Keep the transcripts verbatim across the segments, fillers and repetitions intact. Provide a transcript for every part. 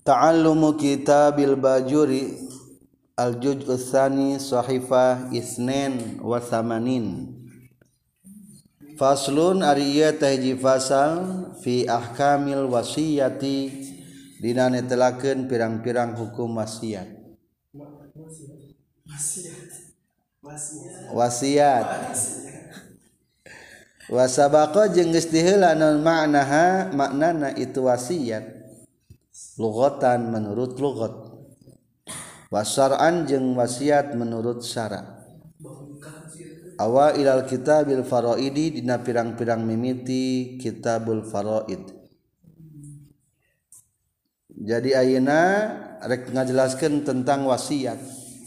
Ta'allumu kitabil bajuri al-juz'u tsani sahifah isnin wa thamanin. Faslun ariya tahji fasal fi ahkamil wasiyati dina netelakeun pirang-pirang hukum wasiat. Wasiat. Wasabaqa jeung geus diheula naon maknaha maknana itu wasiat. Lughatan menurut lughat. Wasar'an jeung wasiat menurut syara. Awa ilal kitabil faraidi dina pirang-pirang mimiti kitabul faraid. Jadi ayeuna rek ngajelaskeun tentang wasiat.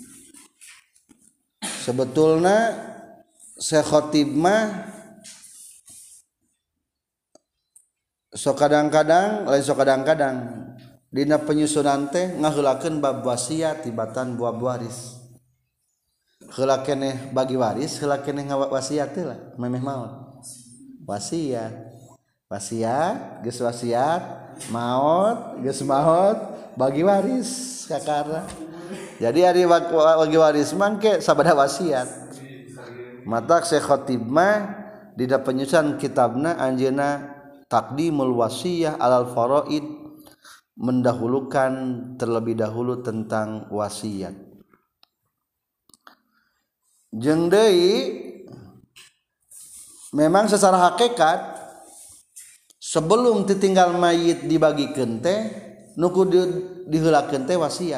Sebetulna Syekh Khatib mah sok kadang-kadang lain sok kadang-kadang dina penyusunan teh ngaheulakeun bab wasiat tibatan buah waris. Heula keneh bagi waris, heula keneh ngawasiat teh lah, memeh maot. Wasiat. Wasiat, geus wasiat, maot, geus maot, bagi waris kakara. Jadi ari bagi waris mangke sabada wasiat. Matak Syekh Khatib mah dina penyusunan kitabna anjeunna taqdimul wasiyah alal faraid, mendahulukan terlebih dahulu tentang wasiat. Jeung deui memang secara hakikat sebelum ditinggal mayit dibagikeun teh nu kudu diheulakeun teh wasiat.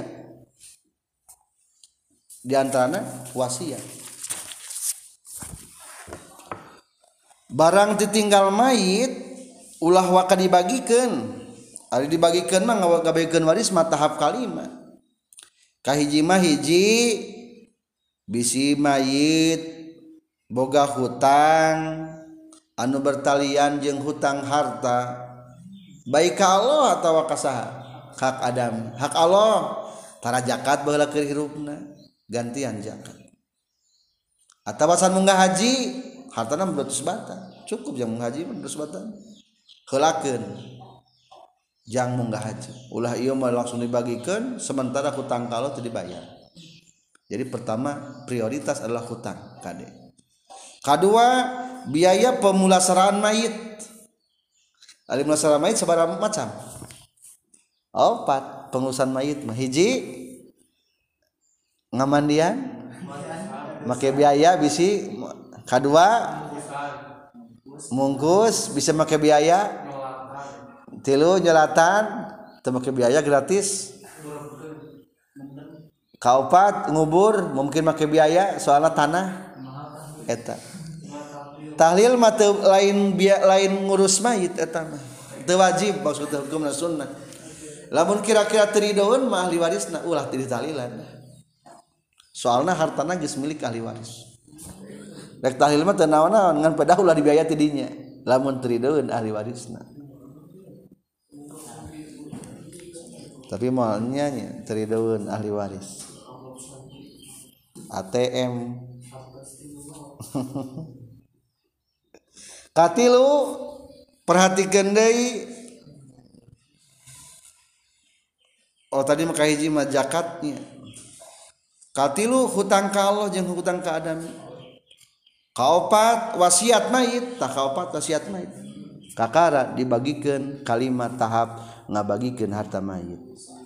Di antarana wasiat. Barang ditinggal mayit ulah waka dibagikeun. Ari dibagikeun mah ngabagikeun waris mah tahap kalima. Kahiji mah hiji bisi mayit boga hutang anu bertalian jeung hutang harta baik ka Allah atawa ka saha hak Adam. Hak Allah tara zakat baheula keur hirupna gantian zakat. Atawa san munggah haji hartana beratus bata cukup jang munggah haji beratus bata heulakeun jang munggah haji ulah ieu mah langsung dibagikeun sementara hutang ka Allah teu dibayar. Jadi pertama prioritas adalah hutang kade. Kedua biaya pemulasaraan mayit. Ari mulasaraan mayit sabaraha macam? Opat pengurusan mayit mah hiji ngamandian make biaya bisi, kedua mungkus bisa make biaya, tilu nyolatan teu make biaya gratis. Kaopat ngubur mungkin make biaya soalna tanah eta. Tahlil mah teu lain biaya lain ngurus mayit eta mah. Teu wajib maksudna hukumna sunnah. Lamun kira-kira teridoeun mah ahli warisna ulah teu ditahlilan. Soalna hartana geus milik ahli waris. Rek tahlil mah teu naon-naon ngan pedah ulah dibiaya ti dinya. Lamun teridoeun ahli warisna. Tapi malnya nya teridoeun ahli waris. A T M katilu perhatikeun deui. Oh tadi mah kahiji mah zakatnya. Katilu hutang ka Allah jeung hutang ka Adam. Kaopat wasiat mayit, tah kaopat wasiat mayit. Kakara dibagikeun kalimat tahap ngabagikeun harta mayit.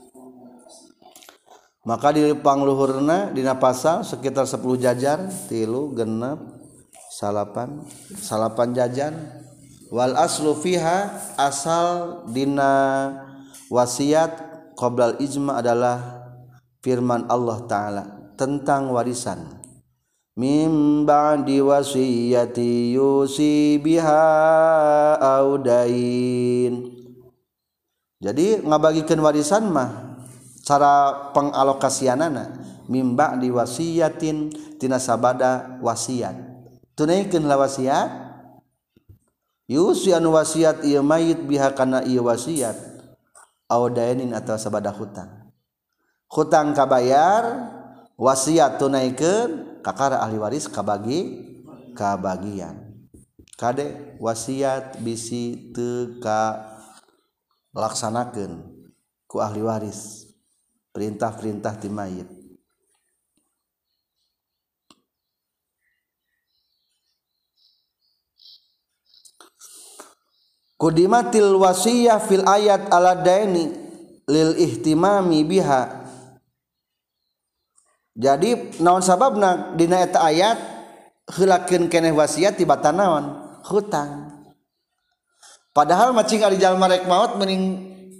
Maka di pangluhurna dina pasal sekitar sepuluh jajar, tilu, genep, salapan, salapan jajan. Wal aslu fiha asal dina wasiat qoblal ijma adalah firman Allah Ta'ala tentang warisan. Mim ba'di wasiyati yusi biha audain. Jadi ngabagikeun warisan mah cara pengalokasianana mimba di wasiatin tina sabada wasiat tunaikeun la wasiat yusi anu wasiat ieu mayit biha kana ieu wasiat audainin atau sabada hutang hutang kabayar wasiat tunaikeun kakara ahli waris kabagi kabagian kade wasiat bisi teu ka laksanakeun ku ahli waris perintah-perintah ti mayit. Qudimatil wasiyah fil ayat ala daini lil ihtimami biha. Jadi naon sababna dina eta ayat heulakeun keneh wasiat tibatan naon hutang. Padahal macing ari jalma rek maot mending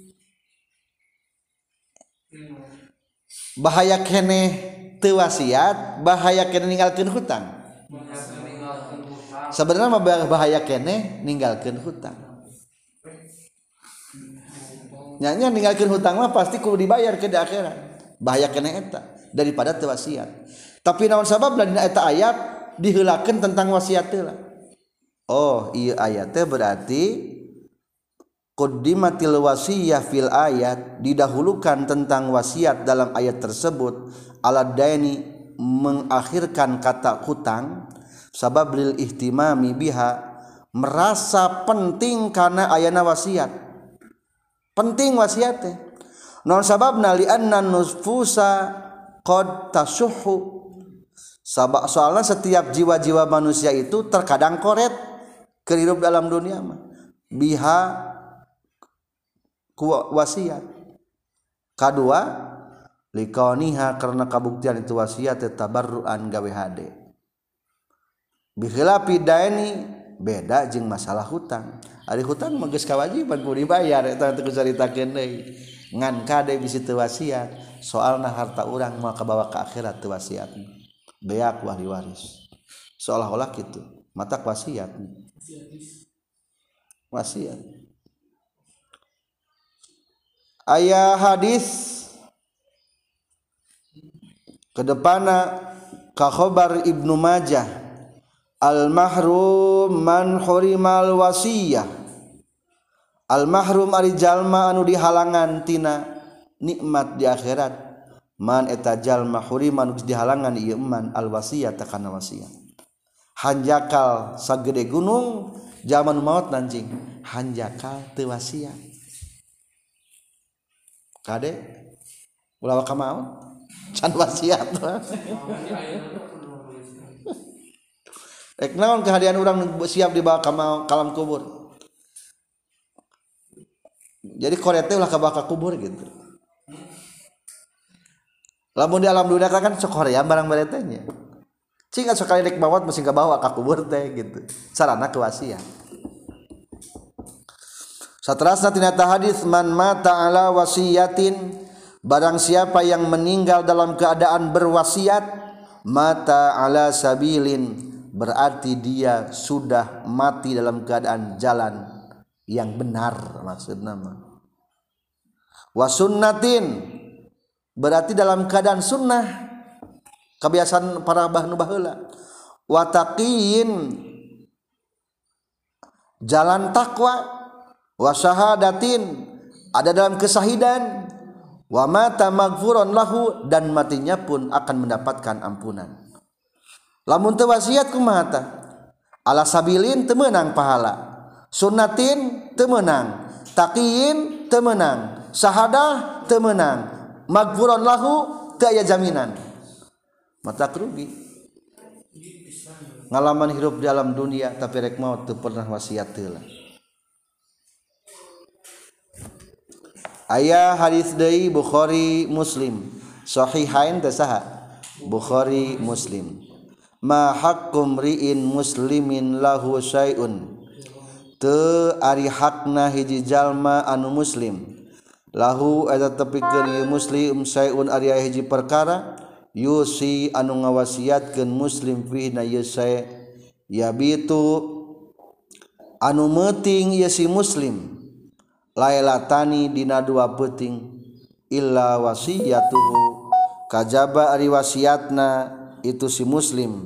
bahaya keneh teu wasiat, bahaya keneh ninggalkeun hutang. Sebenarnya bahaya keneh ninggalkeun hutang. Nyanya ninggalkeun hutang mah pasti kudu dibayar ke di akhirat. Bahaya keneh eta daripada teu wasiat. Tapi naon sababna dina eta ayat diheulakeun tentang wasiat teh lah. Oh, ieu ayat teh berarti quddimatil wasiyah fil ayat didahulukan tentang wasiat dalam ayat tersebut ala daini mengakhirkan kata hutang sabab lil ihtimami biha merasa penting karena ayana wasiat penting wasiat teh non sababna li anna nufusa qad tasuhu sabab soalnya setiap jiwa-jiwa manusia itu terkadang koret kehidup dalam dunia mah biha wasiat. Kadua likauniha karena kabuktian itu wasiat tabarruan gawe hade. Bikhilafi daini beda jeung masalah hutang. Ari hutang mah geus kawajiban kudu dibayar eta teh kucaritakeun deui. Ngan kade bisi teu wasiat, soalna harta urang moal kabawa ka akhirat teu wasiat. Beak ahli waris. Seolah-olah kitu, matak wasiat. Wasiat. Aya hadis kedepana ka khabar Ibnu Majah al mahrum man hurimal wasiyah al mahrum ari jalma anu dihalangan tina nikmat di akhirat man eta jalma huriman dihalangan ieu man al wasiyah takana wasiat hanjakal sagede gunung zaman maut nanjing hanjakal teu wasiat kade ulah ka maut can wasiat rek naon kehadian urang siap dibawa ka kalam kubur jadi korete ulah ka bawa ka kubur gitu lamun di alam dunia kan sok hoream barang baretenya cing sekali rek maut mesti ka bawa ka kubur teh gitu sarana ke wasiat. Saterasna tina hadis man mata ala wasiyatin barang siapa yang meninggal dalam keadaan berwasiat mata ala sabilin berarti dia sudah mati dalam keadaan jalan yang benar maksudna mah wa sunnatin berarti dalam keadaan sunnah kebiasaan para bahnu baheula wa taqiyin jalan takwa wa syahadatin ada dalam kesahidan wa mata maghfuran lahu dan matinya pun akan mendapatkan ampunan. Lamun teu wasiat kumaha tah? Ala sabilin teu meunang pahala. Sunnatin teu meunang, taqiyin teu meunang, syahadah teu meunang, maghfuran lahu teu aya jaminan. Mata rugi. Ngalaman hidup di alam dunia tapi rek maut teu pernah wasiat teu lah. Aya hadis deui Bukhari Muslim sahihain teh saha Bukhari Muslim ma haqqum ri'in muslimin lahu syai'un teu ari hakna hiji jalma anu muslim lahu eta tepikeun ieu muslim syai'un ari hiji perkara yusi anu ngawasiatkeun muslim fi na ieu syai' yabitu anu meuting ieu si muslim lailatani dina dua peuting illa wasiyatuhu kajaba ari wasiatna itu si muslim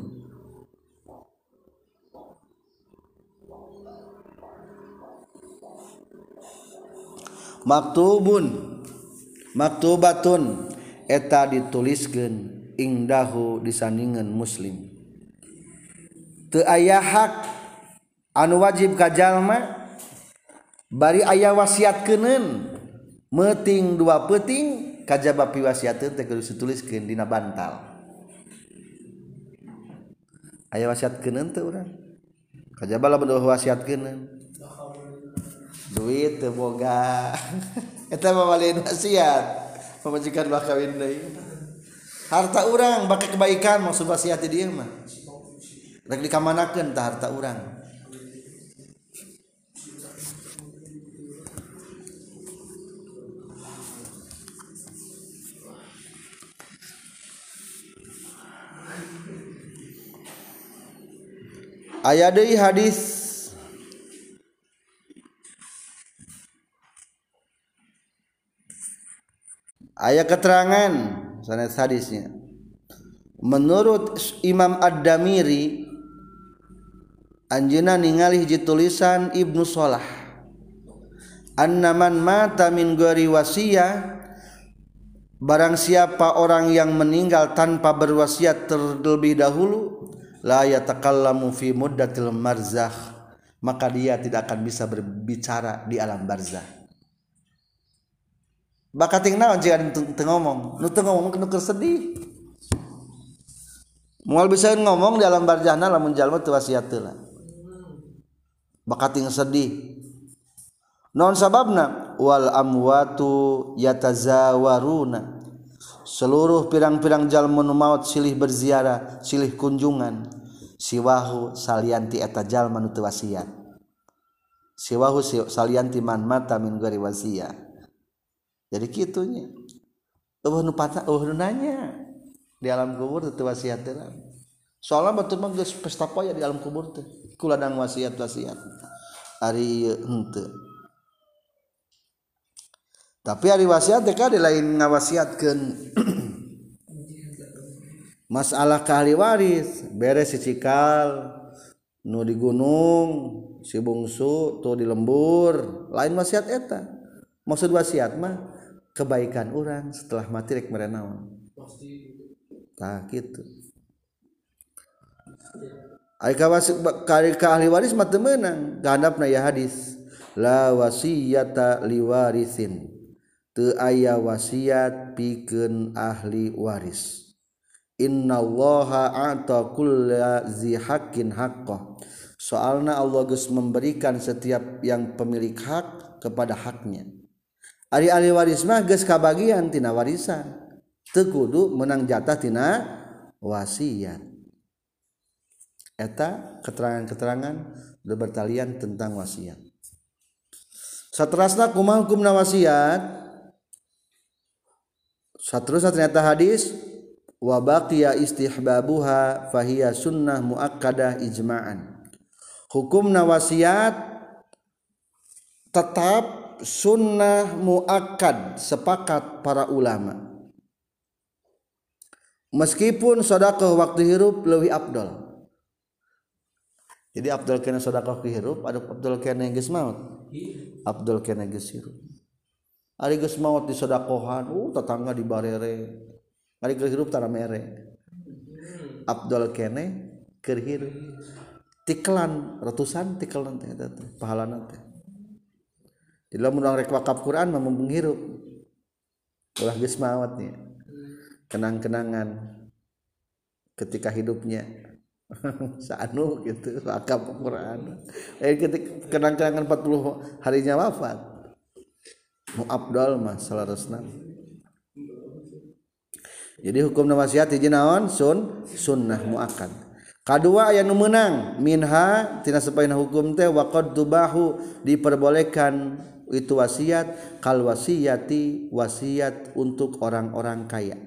maktubun maktubatun eta dituliskeun ingdahu disandingan muslim teu aya hak anu wajib ka jalma bari aya wasiat keuneun meting dua peting kajaba piwasiateun teh kudu dituliskeun dina bantal. Aya wasiatkeun teu urang? Kajaba lamun wasiatkeun. Duit teu boga. Eta mah baliin wasiat. Pamajikan bah kawin deui. Harta urang bake kebaikan maksud wasiat di dieu mah. Rek dikamanakeun tah harta urang. Aya deui hadis aya keterangan sanes hadisnya menurut Imam Ad-Damiri anjeunna ningali hiji tulisan Ibnu Shalah annaman mata min ghairi wasiyah barang siapa orang yang meninggal tanpa berwasiat terlebih dahulu la yatakallamu fi muddatil marzakh maka dia tidak akan bisa berbicara di alam barzakh. Bakating naon jika teu ngomong nu teu ngomong nu keur sedih moal bisa ngomong di alam barzahna lamun jalma teu wasiat teu lah bakating sedih naon sababna wal amwatu yatazawaruna seluruh pirang-pirang jalma nu maot silih berziarah silih kunjungan siwahu salianti eta jalma nu teu wasiat siwahu salianti man mata min ghairi wasiyah. Jadi kitunya eueuh nu patah eueuh nu nanya di alam kubur teu wasiat teh soalna batur mah geus pesta poya di alam kubur teh kuladang wasiat-wasiat ari henteu. Tapi ari wasiat teh kade lain ngawasiatkeun masalah ka ahli waris beres si cikal nu di gunung si bungsu tuh di lembur lain wasiat eta. Maksud wasiat mah kebaikan orang setelah mati rek mere naon tah kitu. Ai ka ahli waris mah teu meunang gahandapna ya hadis la wasiyata liwarisin teu aya wasiat pikeun ahli waris. Innallaha a'ta kulla zi haqqin haqqah. Soalna Allah geus memberikan setiap yang pemilik hak kepada haknya. Ari ahli waris mah geus kabagian tina warisan. Teu kudu menang jatah tina wasiat. Eta keterangan-keterangan bertalian tentang wasiat. Saterusna kumaha hukumna wasiat? Saterusna ternyata hadis wa baqiya istihbabuha fahiya sunnah muakkadah ijma'an. Hukumna wasiat tetap sunnah muakkad sepakat para ulama. Meskipun sedekah waktu hirup leuwih afdal. Jadi afdal kana sedekah ke hirup, ada afdal kana geus maot. Afdal kana geus hirup. Ari geus maot di sedekahan, uh tetangga di barere. Ari keur hirup tara mere. Afdal kene keur hirup. Tikelan ratusan tikelan teh eta teh pahalana teh. Jadi lamun urang rek wakaf Quran mah mumpung hirup. Ulah geus maot nya. Kenang-kenangan ketika hidupnya saanu gitu wakaf Quran. Eh ketika kenang-kenangan empat puluh harinya wafat. Mu afdal mah salarosna. Jadi hukum wasiat hiji naon? Sun sunnah muakkad. Kadua aya nu meunang minha tina sapaina hukum teh waqad tubahu diperbolehkan itu wasiat kal wasiyati wasiat untuk orang-orang kaya.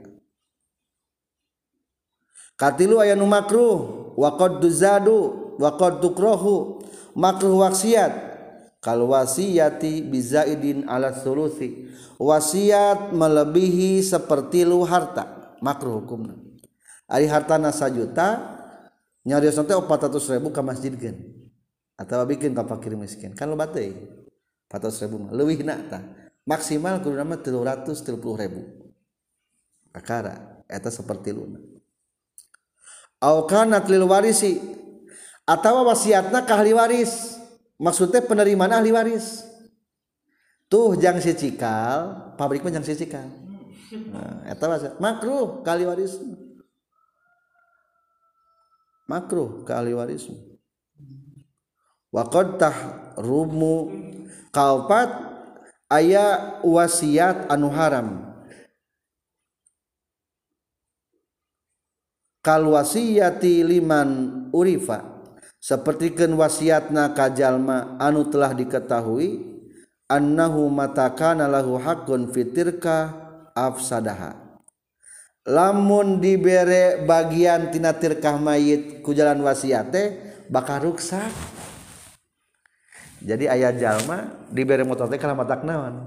Katilu aya nu makruh waqad tuzadu waqad tukrahu makruh wasiat kal wasiyati bizaidin ala sulusi wasiat melebihi sepertilu harta makruh hukumna. Ari hartana sajuta nyariosna teh empat ratus ribu ka masjidkeun atawa bikin ka fakir miskin kan loba teh empat ratus ribu mah leuwihna tah maksimal kudu mah tiga ratus tiga puluh ribu akara eta sapertiluna. Au kanat lil warisi atawa wasiatna ka ahli waris maksudnya penerimaan ahli waris tuh jang si cikal pabrik mah jang si cikal nah eta makruh kali waris makruh kali waris wa qad tahrumu kaopat aya wasiat anu haram kal wasiyati liman urifa sapertikeun wasiatna ka jalma anu telah diketahui annahu matakana lahu haqqun fitirka afsadaha lamun dibere bagian tina tirkah mayit ku jalan wasiat teh bakal ruksak. Jadi aya jalma dibere motor teh kana matak naon?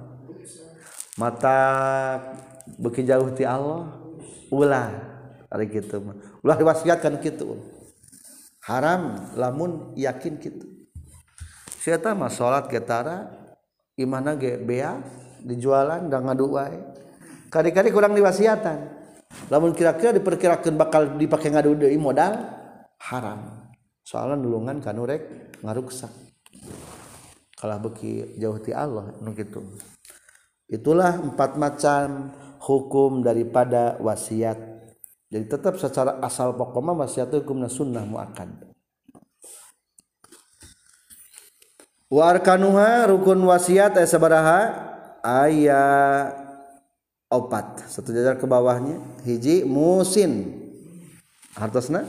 Matak beuki jauh ti Allah. Ulah ari kitu mah. Ulah diwasiatkan kitu. Haram lamun yakin kitu. Sia eta mah salat ge tara, imana ge bea dijualan da ngadu wae. Kadi-kadi kurang diwasiatan. Lamun kira-kira diperkirakeun bakal dipake ngadu deui modal haram. Soalna nulungan kanu rek ngaruksak. Kalah beki jauh ti Allah nu kitu. Itulah empat macam hukum daripada wasiat. Jadi tetap secara asal pokok mah wasiat hukumna sunnah muakkad. Wa arkanuha rukun wasiat aya sabaraha? Aya opat. Satu jajar ke bawahnya hiji musin. Hartosna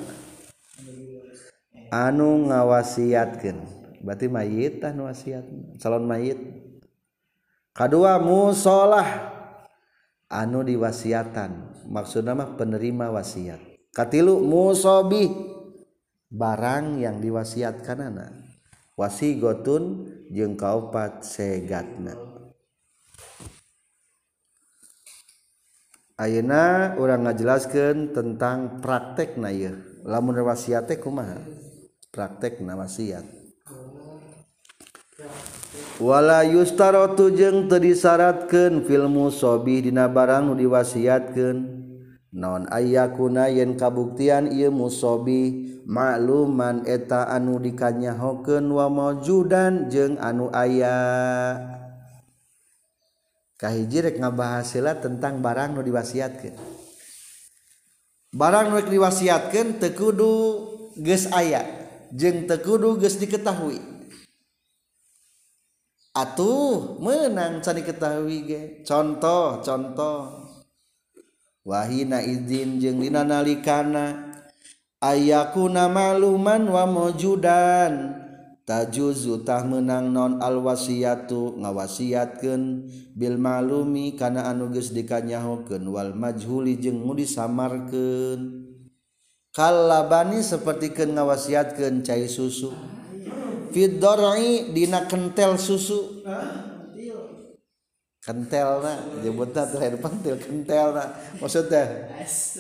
anu ngawasiatkeun. Berarti mayit anu wasiat calon mayit. Kadua musolah anu diwasiatan maksudna mah penerima wasiat. Katilu musobih barang yang diwasiatkanana. Wasigotun jeung kaopat segatna. Ayeuna urang ngajelaskeun tentang praktekna ieu. Lamun wasiat teh kumaha? Praktekna wasiat. Wala yustaratu jeung teu disyaratkeun fil musobih dina barang nu diwasiatkeun naon ayyakuna yen kabuktian ieu musobih makluman eta anu dikanyahokeun wa maujudan jeung anu aya. Kahiji rek ngabahas heula tentang barang nu diwasiatkeun. Barang nu diwasiatkeun teu kudu geus aya jeung teu kudu geus diketahui. Atuh menang can diketahui ge. Contoh, contoh. Wahina izin jeung dina nalikana ayakuna maluman wa maujudan tajuzu tah menang non al wasiyatu ngawasiatkeun bil malumi kana anu geus dikanyahokeun wal majhuli jeung nu disamarkeun. Kalabani sapertikeun ngawasiatkeun cai susu. Fid dar'i dina kentel susu. Kentelna nyebutna teh lain pentil kentelna. Maksudna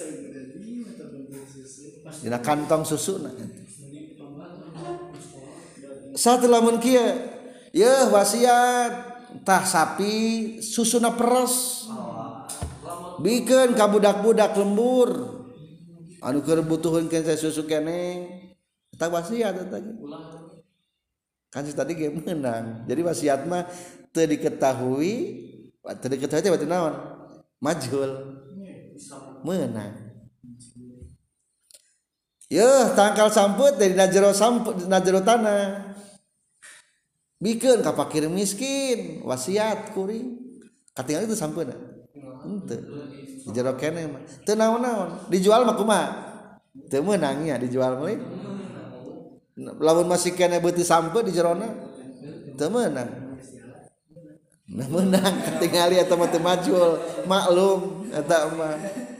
dina kantong susuna. Satu lamun kieu, yeuh wasiat tah sapi susuna peres. Bikeun ka budak-budak lembur. Anu keur butuheun keneh susu keneh. Eta wasiat eta ge. Kan tadi ge menang. Jadi wasiat mah teu diketahui, teu diketahui teh berarti naon? Majhul. Menang. Yeuh tangkal samput dari najero samput najero tanah. Bikeun ka fakir miskin, wasiat kuring. Katingal itu sampeuna. Henteu. Dijero keneh mah. Teu naon-naon. Dijual mah kumaha? Teu meunang nya dijual mah. Lamun masih kena beuti sampe di jerona teu meunang. Nah meunang katingali eta mah teu majul, maklum eta mah.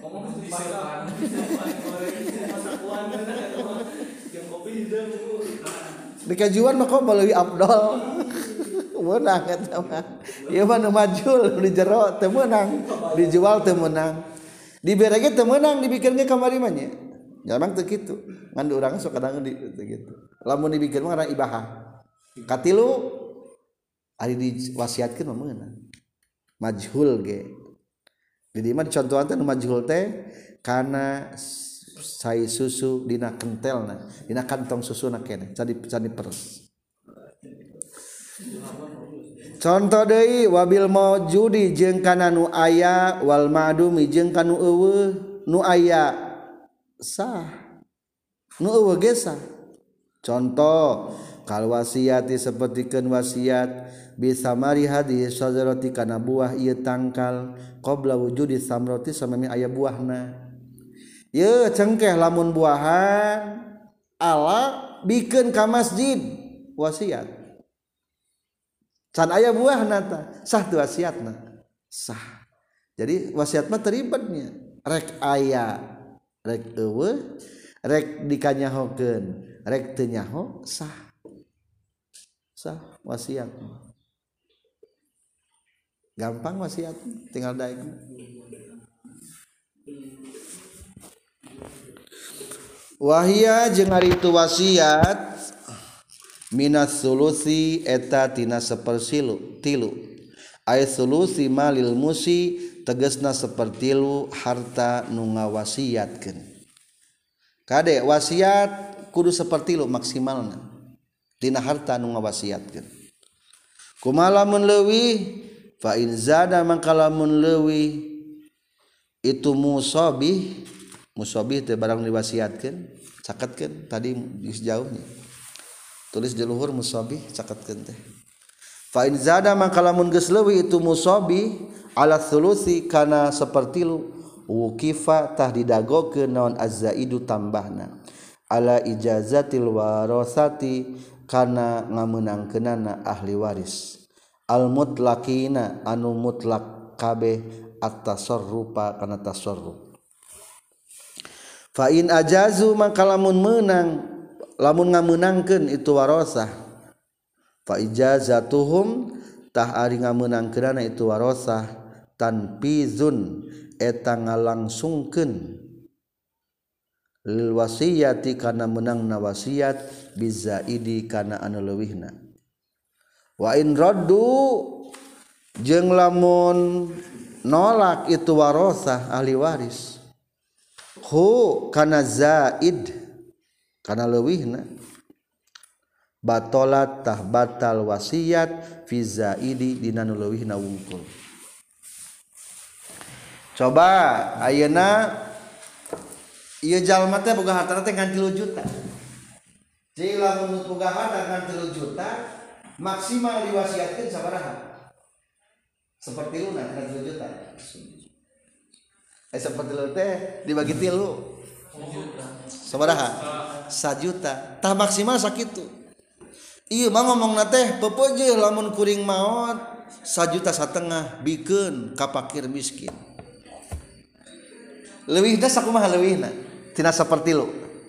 Dikajuan mah kok baleui afdol. Meunang eta mah. Ieu mah nu majul di jero teu meunang, dijual teu meunang. Dibere ge teu meunang dibikeun ge kamari mah nya. Jarang teu kitu. Ngan urang sok kadang di teu kitu. Lamun dibikeun mah ngaran ibahah. Katilu ari diwasiatkeun mah meunang. Majhul ge. Di dieu mah dicontohan teh nu majhul teh kana sai susu dina kentelna, dina kantong susuna keneh, can di can diperes. contoh deui wabil maujudi jeung kana nu aya wal ma'dumi jeung kana nu eueuh nu aya sah nu eueuh ge sah contoh kal wasiati sapertikeun wasiat bisa mari hadis sajarati kana buah ieu tangkal qabla wujudi samrati samemi aya buahna ye cengkeh lamun buahan ala bikeun ka masjid wasiat can aya buahna ta sah teu wasiatna sah jadi wasiat mah teribetnya rek aya rek eueuh rek dikanyahokeun rek teu nyaho sah sah wasiat gampang wasiat tinggal daek wahia jeung ari itu wasiat minas sulusi eta tina sapersilu tilu ay sulusi malil musi tegasna sapertilu harta nu ngawasiatkeun kade wasiat kudu sapertilu maksimalna tina harta nu ngawasiatkeun kumaha lamun leuwih fa in zada mangka lamun leuwih itu musabih musabih teh barang diwasiatkeun caketkeun tadi geus jauhnya tulis di luhur musabih caketkeun teh fa in zada mangka lamun geus leuwih itu musabih ala thulusi kana sapertilu wukifa tah didagokeun naon azzaidu tambahna ala ijazatil warasati kana ngameunangkeunana ahli waris al mutlaqina anu mutlak kabeh at-tasarrufa kana tasarruf fa in ajazu mangka lamun meunang lamun ngameunangkeun itu warasah fa ijazatuhum tah ari ngameunangkeunana itu warasah tanfizun eta ngalangsungkeun lil wasiyati kana meunangna wasiat bizaidi kana anu leuwihna wa in raddu jeung lamun nolak itu warasah ahli waris hu kana zaid kana leuwihna batolat tah batal wasiat fi zaidi dina nu leuwihna wungkul coba ayeuna ieu jalma teh boga hartana teh ngan tilu juta jadi lamun boga harta ngan tilu juta maksimal diwasiatkeun sabaraha seperti lu nah kena tilu juta eh seperti lu teh dibagi tilu sabaraha sajuta tah maksimal sakitu ieu mah ngomongna teh pepeujeuh lamun kuring maot sajuta satengah bikeun ka fakir miskin leuwihna sakumaha leuwihna tina sapertilu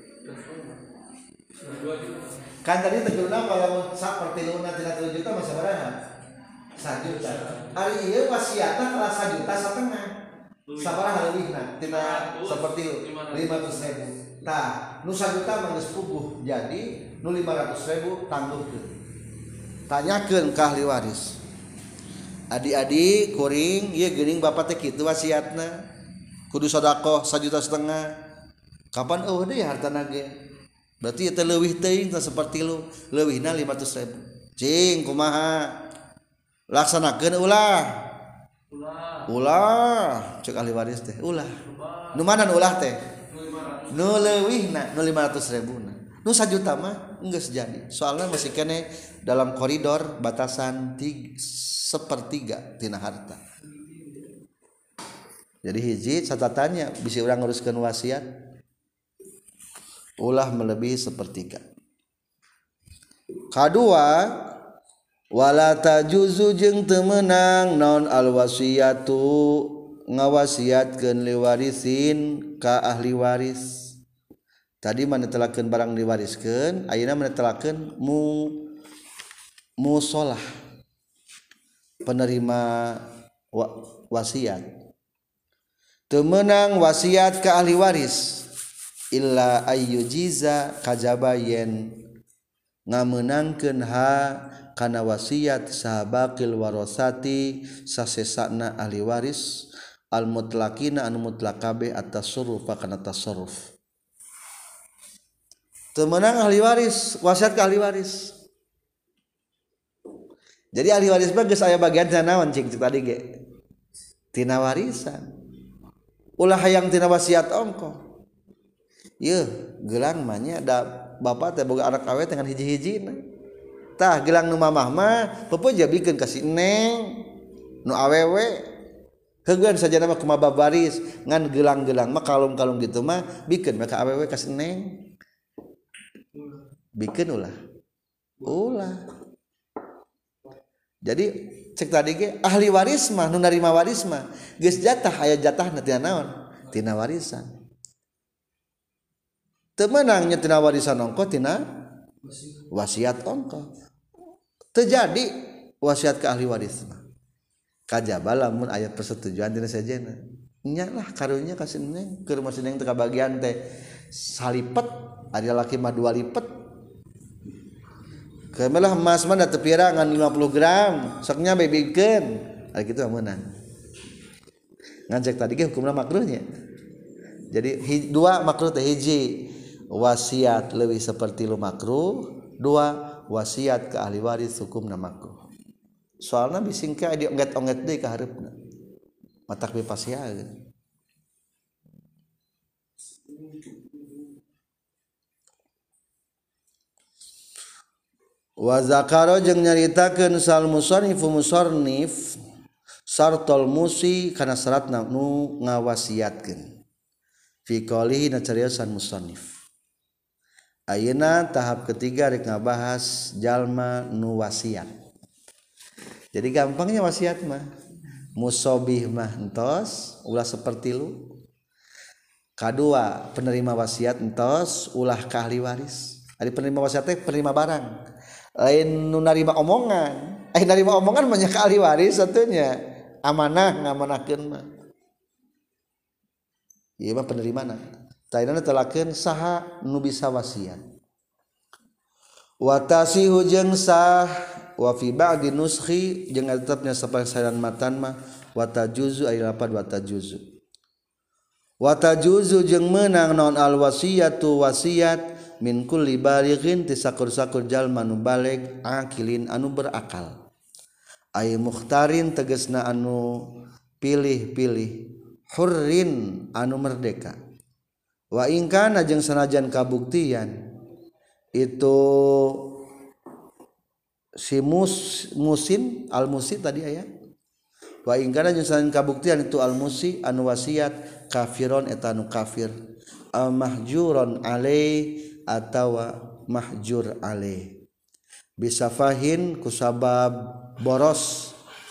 kan tadi tegurna kalau sapertiluna tina tilu juta mah sabaraha sajuta ari ieu wasiatna tara sajuta satengah sabaraha leuwihna tina sapertilu lima ratus ribu tah nu sajuta mah geus puguh jadi nu lima ratus ribu tangguhkeun tanyakeun ka ahli waris adik-adik kuring ieu geuning bapa teh kitu wasiatna kudu sedekah sajuta setengah kapan eueuh deui hartana ge berarti eta leuwih teuing tah sapertilu leuwihna lima ratus ribu cing kumaha laksanakeun ulah ulah ulah cek ahli waris teh ulah nu mana nu ulah teh nu leuwihna nu lima ratus ribu na nu sajuta mah geus jadi soalna masih kene dalam koridor batasan tiga, sepertiga tina harta jadi hiji catatannya bisa urang nguruskeun wasiat ulah melebihi sepertiga kadua wala tajuzu jeung teu meunang naon al wasiyatu ngawasiatkeun liwarisin ka ahli waris tadi manetelakeun barang diwariskeun ayeuna manetelakeun mu musolah penerima wa, wasiat teu meunang wasiat ka ahli waris illa ayyujiza kajaba yen ngameunangkeun ha kana wasiat sahabaqil warasati sasesana ahli waris al mutlaqina anu mutlaq kabeh at-tasarruf kana tasarruf teu meunang ahli waris wasiat ka ahli waris Jadi ahli waris mah geus aya bagian tina naon cing tadi ge tina warisan ulah hayang tina wasiat ongko yeuh gelang mah nya da bapak teh boga anak awewe dengan hiji-hijina tah gelang nu mamah mah peupeut jabikeun ka si neng nu awewe heugeun saja nama kumaha baris ngan gelang-gelang mah kalung-kalung gitu mah bikeun mah ka awewe ka si neng bikeun ulah ulah jadi cek tadi ge ahli waris mah nu narima waris mah geus jatah aya jatahna tina naon tina warisan teu meunang nya tina warisan ongko tina wasiat ongko teu jadi wasiat ke ahli waris mah kajaba lamun aya persetujuan tina sajena nya lah karunya ka sineng keur mah sineng teu kabagian teh salipet ari lalaki mah dua lipet kemelah emas mah da teu pirangan lima puluh gram soknya bebikeun ari kitu amunna ngan cek tadi ge hukumna makruhnya jadi hi, dua makruh teh hiji wasiat leuwih seperti lu makruh dua wasiat ke ahli waris hukumna makruh soalna bising ke adi ongget-ongget deui ka hareupna matak bepasiaeun wa zakaro jeung nyaritakeun sal musannif musannif sartol musi kana syaratna nu ngawasiatkeun fi qalihi na cariosan musannif ayeuna tahap ketiga rek ngabahas jalma nu wasiat jadi gampangnya wasiat mah musobih mah entos ulah seperti lu kadua penerima wasiat entos ulah ka ahli waris ari penerima wasiat teh penerima barang lain nu narima omongan eh narima omongan banyak ka ahli waris satunya amanah ngamanahkeun mah ieu mah penerimana tainana telakeun saha nu bisa wasiat wa tasihu jeung sah wa fi ba'di nuskhi jeung tetepnya sapasaran matan mah wa tajuzu aya lapan wa tajuzu wa tajuzu jeung meunang naon al wasiyatu wasiat min kulli balighin ti sakur-sakur jalma nu baleg akilin anu berakal ay mukhtarin tegasna anu pilih-pilih hurrin anu merdeka wa in kana jeung sanajan kabuktian itu si mus, musin al musi tadi aya wa in kana jeung sanajan kabuktian itu al musi anu wasiat kafiron eta anu kafir al mahjuron alai atawa mahjur alaih bisafahin kusabab boros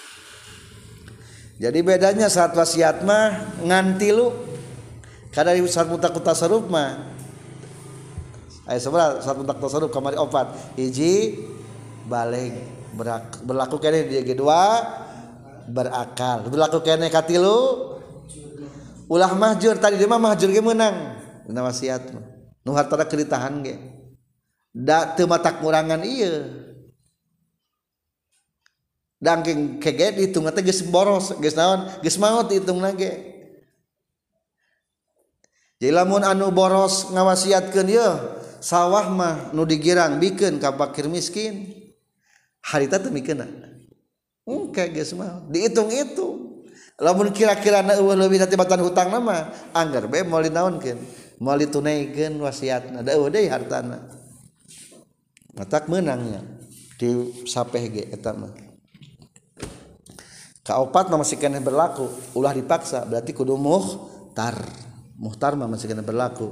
jadi bedanya saat wasiat mah ngan tilu kada saat mutak tasarruf mah aya sabaraha saat mutak tasarruf kamari opat hiji baleg berlaku keneh di dua berakal berlaku keneh katilu ulah mahjur tadi dia mah mahjur ge meunang dina wasiat mah nu hartana keritahan ge da teu matak ngurangan ieu dangking kege dihitung teh geus boros geus naon geus maot dihitungna ge jadi lamun anu boros ngawasiatkeun ieu sawah mah nu digirang bikeun ka fakir miskin harita teu mikeunna engke geus mah dihitung-hitung lamun kira-kirana eueuh leuwih tibatan hutangna mah anggar bae moal dinaonkeun moal ditunaikeun wasiatna da eueuh deui hartana matak meunangnya di sapeh ge eta mah kaopat mah masih keneh berlaku ulah dipaksa berarti kudu muhtar muhtar mah masih keneh berlaku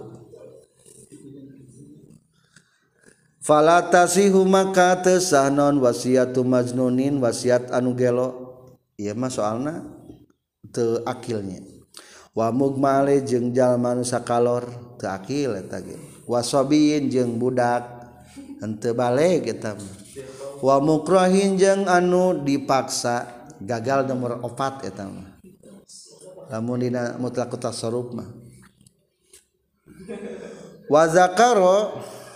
fala tasihu maka teu sah naon wasiatu majnunin wasiat anu gelo ieu mah soalna teu akilnya wa mugmale jeung jalma nu sakalor teu akil eta ge wasobiin jeung budak henteu baleg eta mah wa mukrahin jeung anu dipaksa gagal nomor opat eta mah lamun dina mutlaq tasarruf mah wa zakaro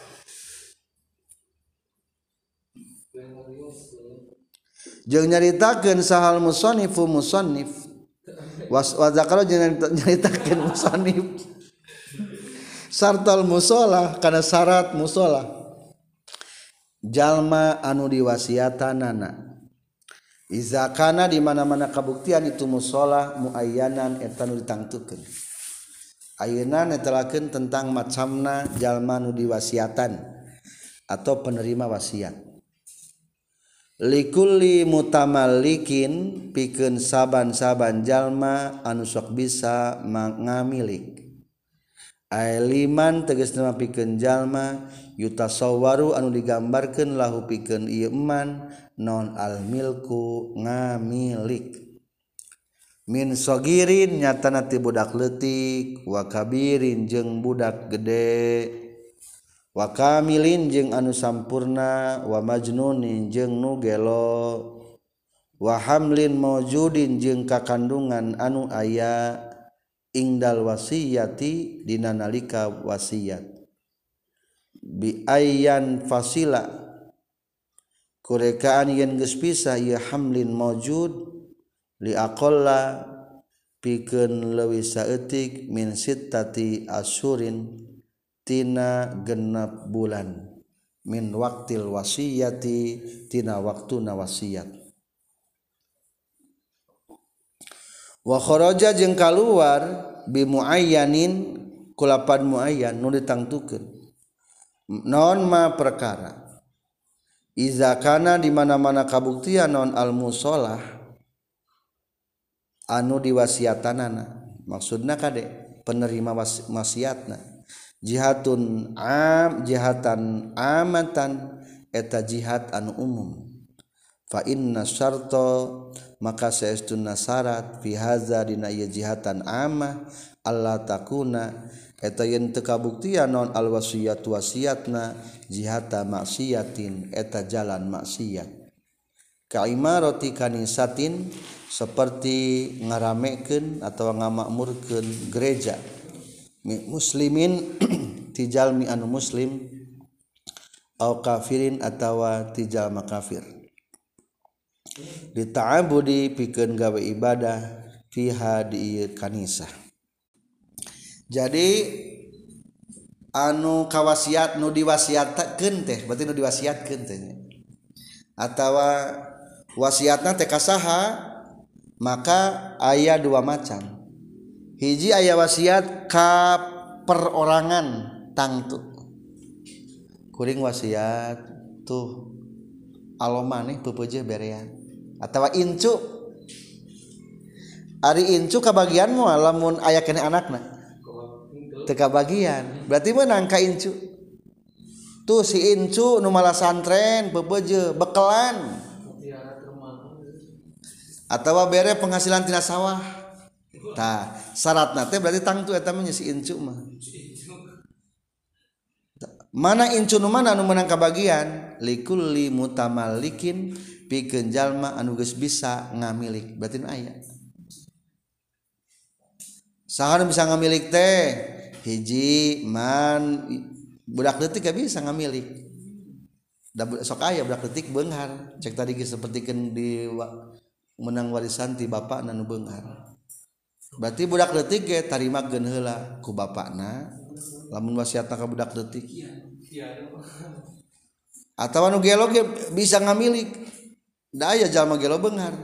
jeung nyaritakeun sahal musannifu musannif wa zakaro jeung nyaritakeun musannif sartal musolah kana syarat musolah jalma anu diwasiatanana Iza kana di mana-mana kabuktian itu musola muayyanan eta nu ditangtukeun. Ayeuna netelakeun tentang macamna jalma nu diwasiatan atau penerima wasiat. Likulli mutamallikin pikeun saban-saban jalma anu sok bisa ngamilik. Ailiman tegasna pikeun jalma yutasawwaru anu digambarkeun lahu pikeun ieu eman non al milku ngamilik min sogirin nyatana ti budak leutik wa kabirin jeung budak gede wa kamilin jeung anu sampurna wa majnunin jeung nu gelo wa hamlin maujudin jeung kakandungan anu aya ingdal wasiyati dina nalika wasiat bi ayyan fasila kurekaan yen geus pisah ieu hamlin maujud li aqalla pikeun leuwih saeutik min sittati asyurin tina genep bulan min waqtil wasiyati tina waktuna wasiat wa kharaja jeung kaluar bi muayyanin kulapan muayyan nu ditangtukeun non ma perkara iza kana di mana-mana kabuktian non al musolah anu diwasiatanana maksudna kade penerima wasiatna jihatun am jihatan amatan eta jihad anu umum fa inna syarta maka saestuna syarat fi haza dina ieu jihatan amah Allah takuna eta yen teu kabuktian non al wasiyatu wasiatna jihata maksiatin eta jalan maksiat ka imarati kanisatin seperti ngaramekeun atawa ngamakmurkeun gereja muslimin ti jalmi anu muslim au kafirin atawa ti jalma kafir dita'abudi pikeun gawe ibadah fiha di kanisah. Jadi anu kawasiat nu diwasiatkeun teh berarti nu diwasiatkeun teh atawa wasiatna teh kasaha maka aya dua macam. Hiji aya wasiat ka perorangan tangtu kuring wasiat tuh alomaneh peupeujeuh berean atawa incu ari incu kabagian moal lamun aya keneh anakna teu kabagian berarti meunang ka incu tuh si incu nu malah santren peupeujeuh bekelan atawa bere penghasilan tina sawah tah syaratna teh berarti tangtu eta mah si incu mah mana incu nu mana anu meunang kabagian likulli mutamallikin pikeun jalma anu geus bisa ngamilik berarti nu aya saha nu bisa ngamilik teh hiji man budak leutik ga bisa ngamilik da sok aya budak leutik beunghar cek tadi geus sapertikeun di menang warisan ti bapakna nu beunghar berarti budak leutik ge tarimakeun heula ku bapakna lamun wasiatna ka budak leutik atawa nu gelo ge bisa ngamilik da aya jalma gelo beunghar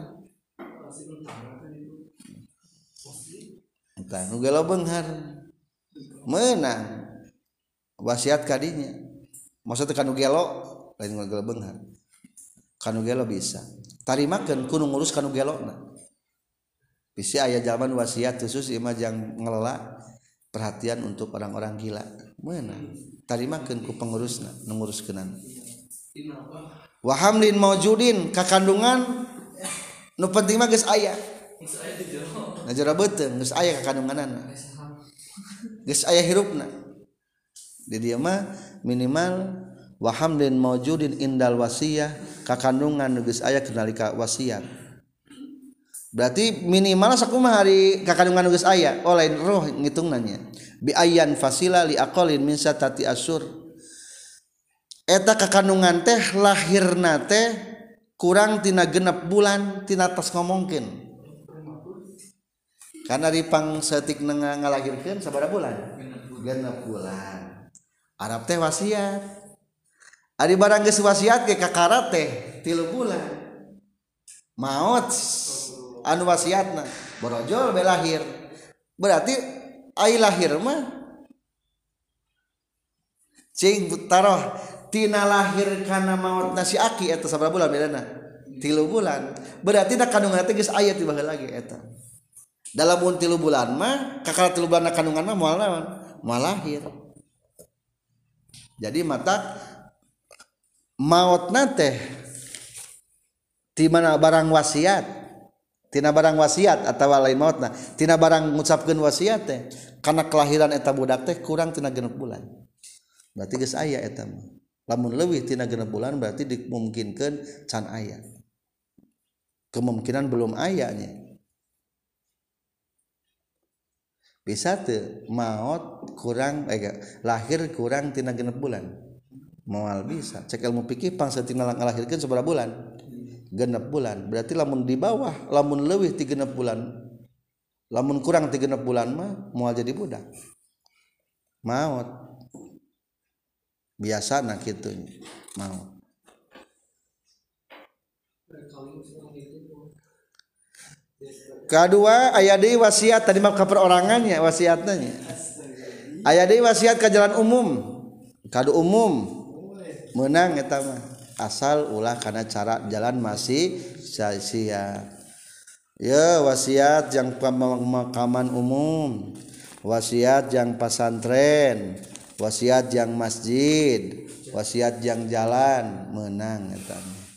tah nu gelo beunghar meunang wasiat ka dinya maksudna ka nu gelo lain nu gelo beunghar ka nu gelo bisa tarimakeun ku nu ngurus ka nu gelona bisi aya jalma nu wasiat khusus ieu mah jang ngelola perhatian untuk orang-orang gila meunang tarimakeun ku pengurusna nu nguruskeunana wa hamlin maujudin kakandungan nu penting mah geus aya geus aya beuteung geus aya kakandunganana geus aya hirupna di dieu mah minimal wa hamlin maujudin indal wasiyah kakandungan nu geus aya nalika wasiat berarti minimal sakumaha hari kakandungan nu geus aya oh lain roh ngitungnana nya bi ayyan fasila li aqalin min satati asyur eta kakandungan teh lahirna teh kurang tina genep bulan tina tos ngomongkeun karena ripang setik ngalahirkeun sabaraha bulan genep bulan Arab teh wasiat ari barang geus wasiat ge kakara teh tilu bulan maut anu wasiatna borojol be lahir berarti ai lahir mah cing taroh tina lahir kana mautna si aki eta sabaraha bulan bedana tilu bulan berarti da kandungan teh geus aya ti baheula lagi eta dalam mun tilu bulan mah kakal tilu bulan kandungan mah moal naon moal lahir jadi mata mautna teh ti mana barang wasiat tina barang wasiat atawa lain mautna tina barang ngucapkeun wasiat teh kana kelahiran eta budak teh kurang tina genep bulan berarti geus aya eta mah lamun leuwih tina genep bulan berarti dimungkinkeun can aya kemungkinan belum aya nya bisa teu maot kurang eh, lahir kurang tina genep bulan moal bisa cek ilmu fikih pangsa tina ngalahirkeun sabaraha bulan genep bulan berarti lamun di bawah lamun leuwih ti genep bulan lamun kurang ti genep bulan mah moal jadi budak maot biasana kitu maot kedua aya deui wasiat tadi mah kaperorangannya wasiatna nya aya deui wasiat ka jalan umum kadu umum meunang eta mah asal ulah kana cara jalan masih sia-sia ya wasiat yang pemakaman umum wasiat yang pesantren wasiat yang masjid wasiat yang jalan meunang eta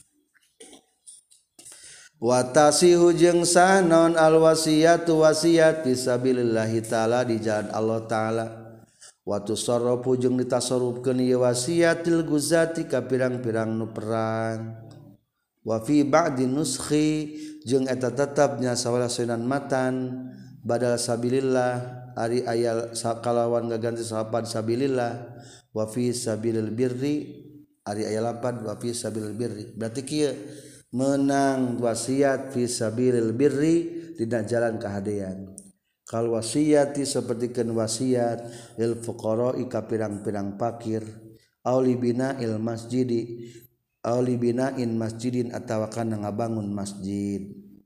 watasihu jeung sah naon al wasiatu wasiat fisabilillahi taala di jalan Allah taala wa tusarrafu jeung ditasarrufkeun ieu wasiatil guzati ka pirang-pirang nu perang wa fi ba'di nuskhi jeung eta tetepnya sawalasenan matan badal sabilillah ari aya kalawan gaganti salapan sabilillah wa fi sabilil birri ari aya lapan wa fi sabilil birri berarti kieu menang wasiat fi sabilil birri dina jalan kahadean kal wasiati sapertikeun wasiat lil fuqara'i ka pirang-pirang fakir auli bina'il masjidi auli bina'in masjidin atawa kana ngabangun masjid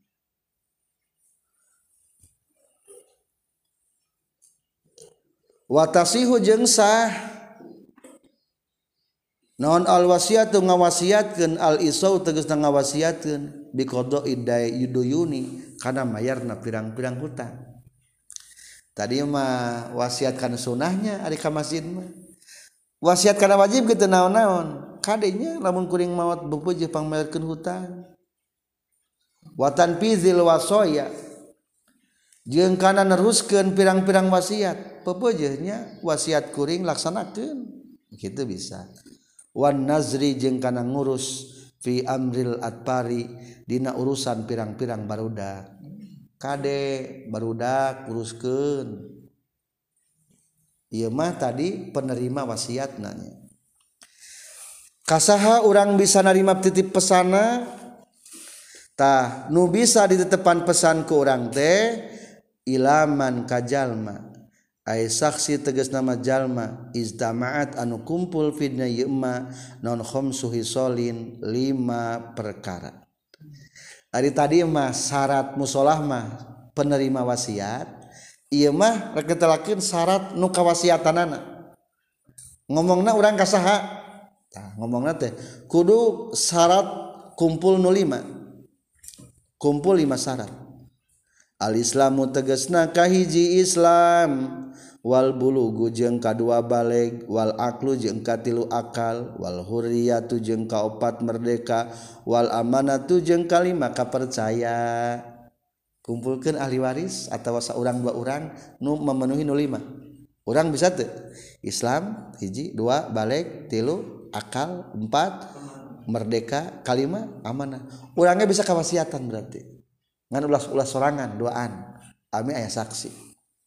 watasihu jeung sah naon al wasiatu ngawasiatkeun al isau tegasna ngawasiatkeun bi qada'i dayuni kana mayarna pirang-pirang hutang tadi mah wasiat kana sunahnya ari ka masjid mah wasiat kana wajib kitu naon-naon kadenya lamun kuring maot beupeuj pangmayarkeun hutang wa tanfizil wasaya jeung kana neruskeun pirang-pirang wasiat beupeuj nya wasiat kuring laksanakeun kitu bisa wan nazri jeung kana ngurus fi amril atpari dina urusan pirang-pirang barudak kade barudak uruskeun ieu mah tadi penerima wasiatna nya kasaha urang bisa narima titip pesana tah nu bisa ditetepan pesan ku urang teh ilaman kajalma ai saksi tegas nama jalma izdamaat anu kumpul fidna yema non khamsu hisolin lima perkara ari tadi mah syarat musolah mah penerima wasiat ieu mah rek ditelakeun syarat nu kawasiatanana ngomongna urang ka saha tah ngomongna teh kudu syarat kumpul nu lima kumpul lima syarat al islamu tegasna kahiji Islam wal bulugu jeung kadua baleg wal aklu jeung katilu akal wal hurriyatu jeung kaopat merdeka wal amanatu jeung kalima kapercaya kumpulkeun ahli waris atawa saurang dua urang nu memenuhi nu lima urang bisa teu Islam hiji dua baleg tilu akal empat merdeka kalima amanah urangnya bisa kawasiatan berarti ngan ulah-ulah sorangan duaan ami aya saksi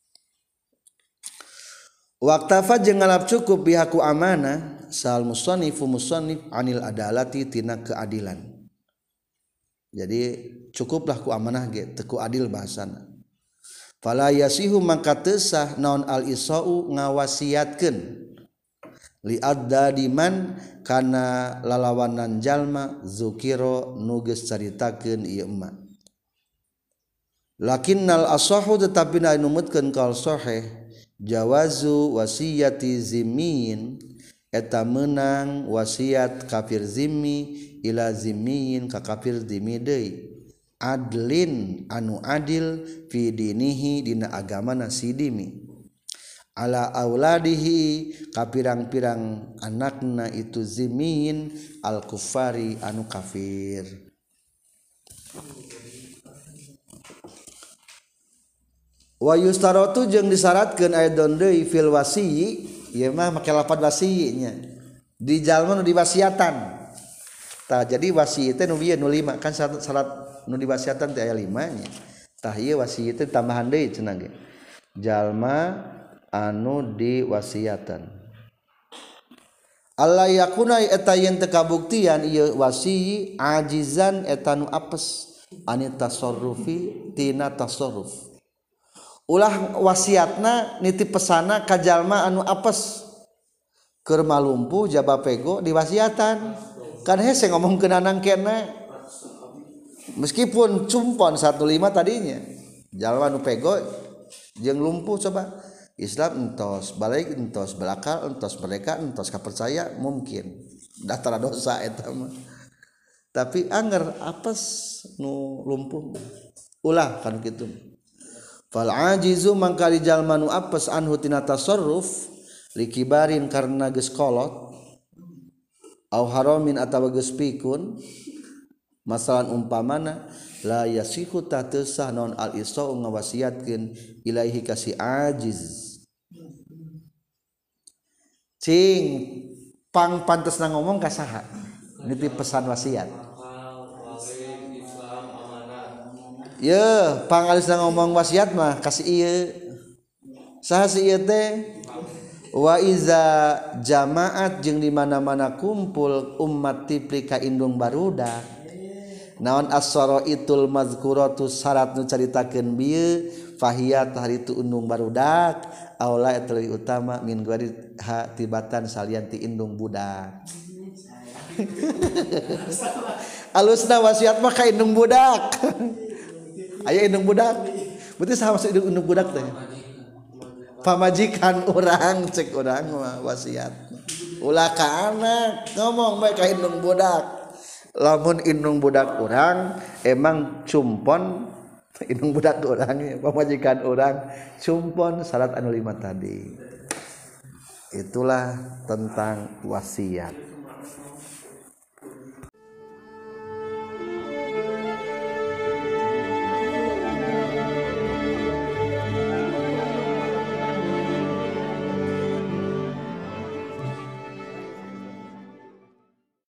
waqtafa jeung ngalap cukup bihaku amanah sal musannifu musannif anil adalati tina keadilan jadi cukuplah ku amanah ge teu ku adil bahasana fala yasihu maka teu sah naon al isau ngawasiatkeun li adda diman kana lalawanan jalma zukiro nuges caritakeun ieu emak lakinnal asahu tetapi na numutkeun kal sahih jawazu wasiyati zimmiin eta meunang wasiat kafir zimmi ila zimmiin ka kafir zimmi deui adlin anu adil fi dinihi dina agamana si dimi ala auladihi kapirang-pirang anakna itu zimin al kufari anu kafir wa yustaratu jeung disyaratkeun aidon deui fil wasiyyi ieu mah make lafaz wasiyyinya di jalma nu diwasiatan tah jadi wasiyyi teh nu bieu nu lima kan syarat, syarat nu diwasiatan teh aya lima nya tah ieu wasiyyi teh tambahan deui cenah ge jalma anu diwasiatan Allah yakuna eta yen teu kabuktian ieu wasiyyi ajizan eta nu apes ani tasarrufi tina tasarruf ulah wasiatna nitip pesana ka jalma anu apes keur malumpu jaba pego diwasiatan kan hese ngomongkeun anang kena meskipun cumpon satu lima tadinya jalma anu pego jeung lumpuh coba Islam entos balik entos belakal entos mereka entos kapercaya mungkin daftar dosa eta mah tapi anger apes nu lumpuh ulah kan kitu fal ajizu mangkali jalma nu apes anhu tina tasarruf likibarin karna geus kolot au haramin atawa geus pikun masalan umpamana la yasihu tatesah non al isa ngawasiatkeun ilaihi kasih ajiz cing pang pantesna ngomong ka saha nitip pesan wasiat ye pang alisna ngomong wasiat mah kasih ieu saha si ieu teh wa iza jamaat jeung di mana-mana kumpul ummat tipli ka indung barudak naon as-sara itul mazkuratu syarat nu caritakeun bieu fahiyat hari itu indung barudak aula eta leuwih utama min guari hatibatan salian ti indung budak alusna wasiat mah ka indung budak aya indung budak berarti saha maksud indung budak teh pamajikan urang cek urang mah wasiat ulah ka anak ngomong bae ka indung budak lamun indung budak urang emang cumpon indung budak urang pamajikan urang cumpon syarat anu lima tadi itulah tentang wasiat.